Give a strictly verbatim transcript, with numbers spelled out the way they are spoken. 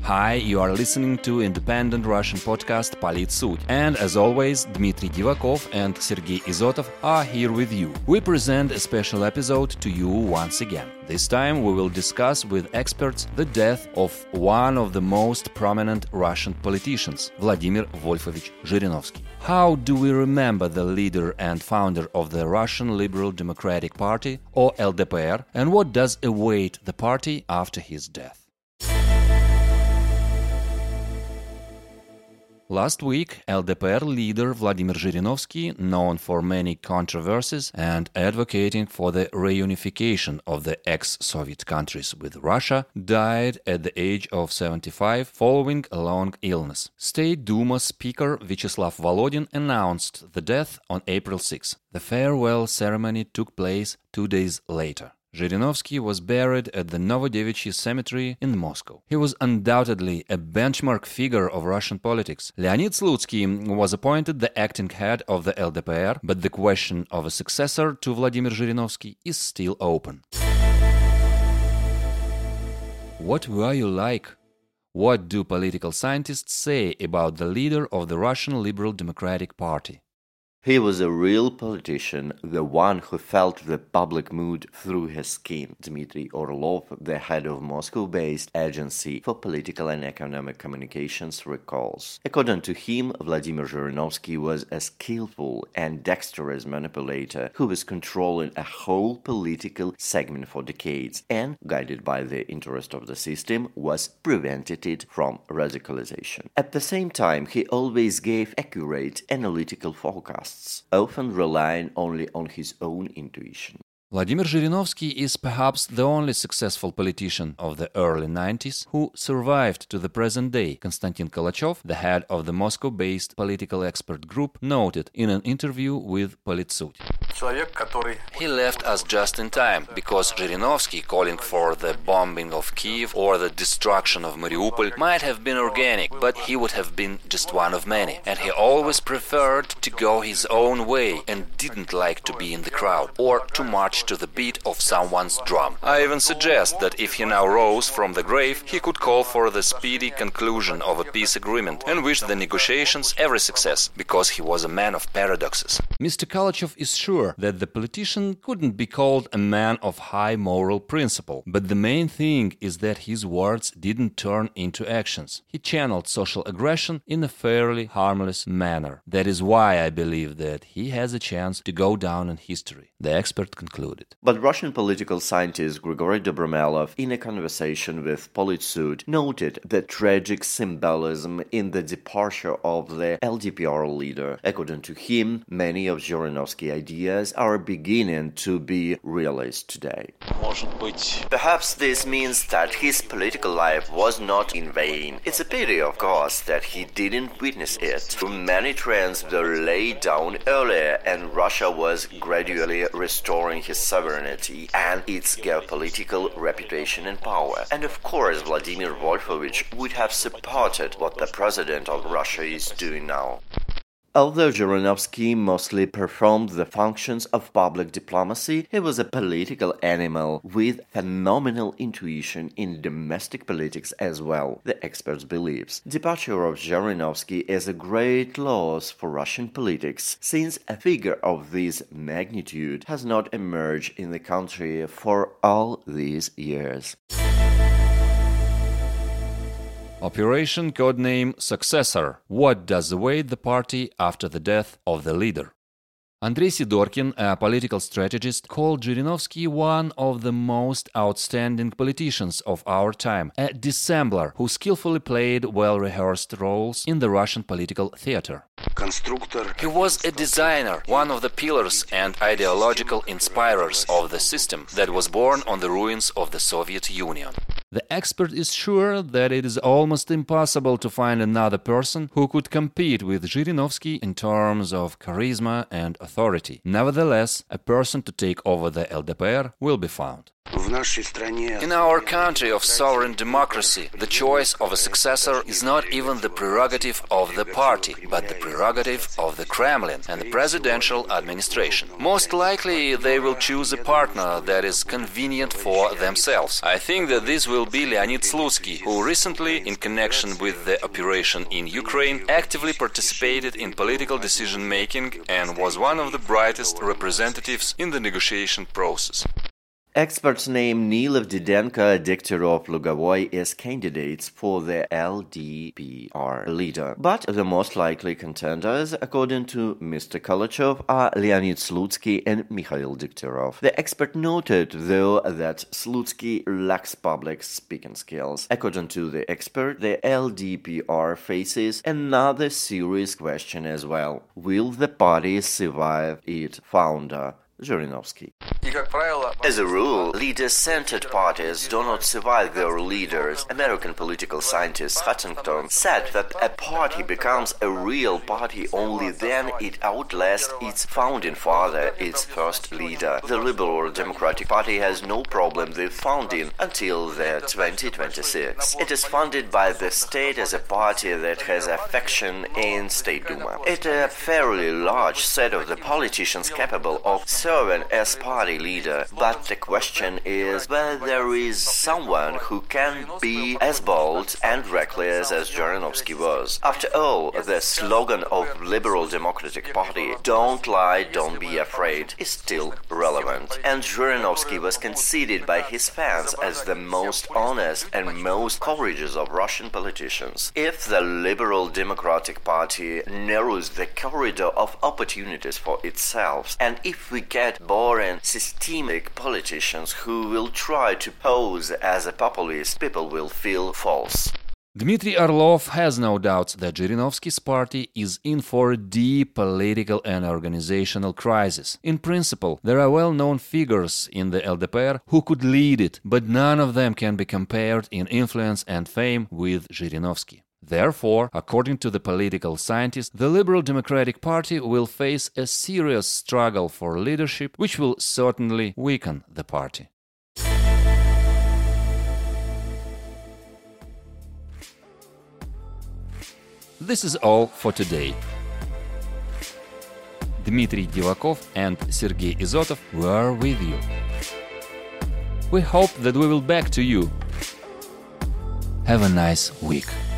Hi, you are listening to independent Russian podcast Politsut. And as always, Dmitry Divakov and Sergei Izotov are here with you. We present a special episode to you once again. This time we will discuss with experts the death of one of the most prominent Russian politicians, Vladimir Wolfovich Zhirinovsky. How do we remember the leader and founder of the Russian Liberal Democratic Party, or L D P R, and what does await the party after his death? Last week, L D P R leader Vladimir Zhirinovsky, known for many controversies and advocating for the reunification of the ex-Soviet countries with Russia, died at the age of seventy-five following a long illness. State Duma Speaker Vyacheslav Volodin announced the death on April sixth. The farewell ceremony took place two days later. Zhirinovsky was buried at the Novodevichy Cemetery in Moscow. He was undoubtedly a benchmark figure of Russian politics. Leonid Slutsky was appointed the acting head of the L D P R, but the question of a successor to Vladimir Zhirinovsky is still open. What were you like? What do political scientists say about the leader of the Russian Liberal Democratic Party? He was a real politician, the one who felt the public mood through his skin. Dmitry Orlov, the head of Moscow-based Agency for Political and Economic Communications, recalls. According to him, Vladimir Zhirinovsky was a skillful and dexterous manipulator who was controlling a whole political segment for decades and, guided by the interest of the system, was prevented it from radicalization. At the same time, he always gave accurate analytical forecasts, often relying only on his own intuition. Vladimir Zhirinovsky is perhaps the only successful politician of the early nineties who survived to the present day. Konstantin Kalachev, the head of the Moscow-based political expert group, noted in an interview with Politsut. He left us just in time, because Zhirinovsky calling for the bombing of Kiev or the destruction of Mariupol might have been organic, but he would have been just one of many. And he always preferred to go his own way and didn't like to be in the crowd or to march to the beat of someone's drum. I even suggest that if he now rose from the grave, he could call for the speedy conclusion of a peace agreement and wish the negotiations every success, because he was a man of paradoxes. Mister Kalachev is sure that the politician couldn't be called a man of high moral principle, but the main thing is that his words didn't turn into actions. He channeled social aggression in a fairly harmless manner. That is why I believe that he has a chance to go down in history, the expert concluded. But Russian political scientist Grigory Dobromelov, in a conversation with Politsut, noted the tragic symbolism in the departure of the L D P R leader. According to him, many of Zhirinovsky's ideas are beginning to be realized today. Perhaps this means that his political life was not in vain. It's a pity, of course, that he didn't witness it. Many trends were laid down earlier, and Russia was gradually restoring his sovereignty and its geopolitical reputation and power. And of course, Vladimir Wolfovich would have supported what the president of Russia is doing now. Although Zhirinovsky mostly performed the functions of public diplomacy, he was a political animal with phenomenal intuition in domestic politics as well, the experts believes. Departure of Zhirinovsky is a great loss for Russian politics, since a figure of this magnitude has not emerged in the country for all these years. Operation codename Successor. What does await the party after the death of the leader? Andrei Sidorkin, a political strategist, called Zhirinovsky one of the most outstanding politicians of our time, a dissembler who skillfully played well-rehearsed roles in the Russian political theater. He was a designer, one of the pillars and ideological inspirers of the system that was born on the ruins of the Soviet Union. The expert is sure that it is almost impossible to find another person who could compete with Zhirinovsky in terms of charisma and authority. Nevertheless, a person to take over the L D P R will be found. In our country of sovereign democracy, the choice of a successor is not even the prerogative of the party, but the prerogative of the Kremlin and the presidential administration. Most likely they will choose a partner that is convenient for themselves. I think that this will be Leonid Slutsky, who recently, in connection with the operation in Ukraine, actively participated in political decision-making and was one of the brightest representatives in the negotiation process. Experts name Nilov, Didenko, Degtярov, Lugovoy as candidates for the L D P R leader. But the most likely contenders, according to Mister Kalachov, are Leonid Slutsky and Mikhail Degtярov. The expert noted, though, that Slutsky lacks public speaking skills. According to the expert, the L D P R faces another serious question as well. Will the party survive its founder, Zhirinovsky? As a rule, leader-centered parties do not survive their leaders. American political scientist Huntington said that a party becomes a real party only then it outlasts its founding father, its first leader. The Liberal Democratic Party has no problem with founding until the twenty twenty-six. It is funded by the state as a party that has a faction in State Duma. It is a fairly large set of the politicians capable of serving as party leader, but the question is whether there is someone who can be as bold and reckless as Zhirinovsky was. After all, the slogan of Liberal Democratic Party, "Don't lie, don't be afraid," is still relevant. And Zhirinovsky was considered by his fans as the most honest and most courageous of Russian politicians. If the Liberal Democratic Party narrows the corridor of opportunities for itself, and if we get boring, systemic politicians who will try to pose as a populist, people will feel false. Dmitry Orlov has no doubts that Zhirinovsky's party is in for a deep political and organizational crisis. In principle, there are well-known figures in the L D P R who could lead it, but none of them can be compared in influence and fame with Zhirinovsky. Therefore, according to the political scientist, the Liberal Democratic Party will face a serious struggle for leadership, which will certainly weaken the party. This is all for today. Dmitry Divakov and Sergei Izotov were with you. We hope that we will back to you. Have a nice week.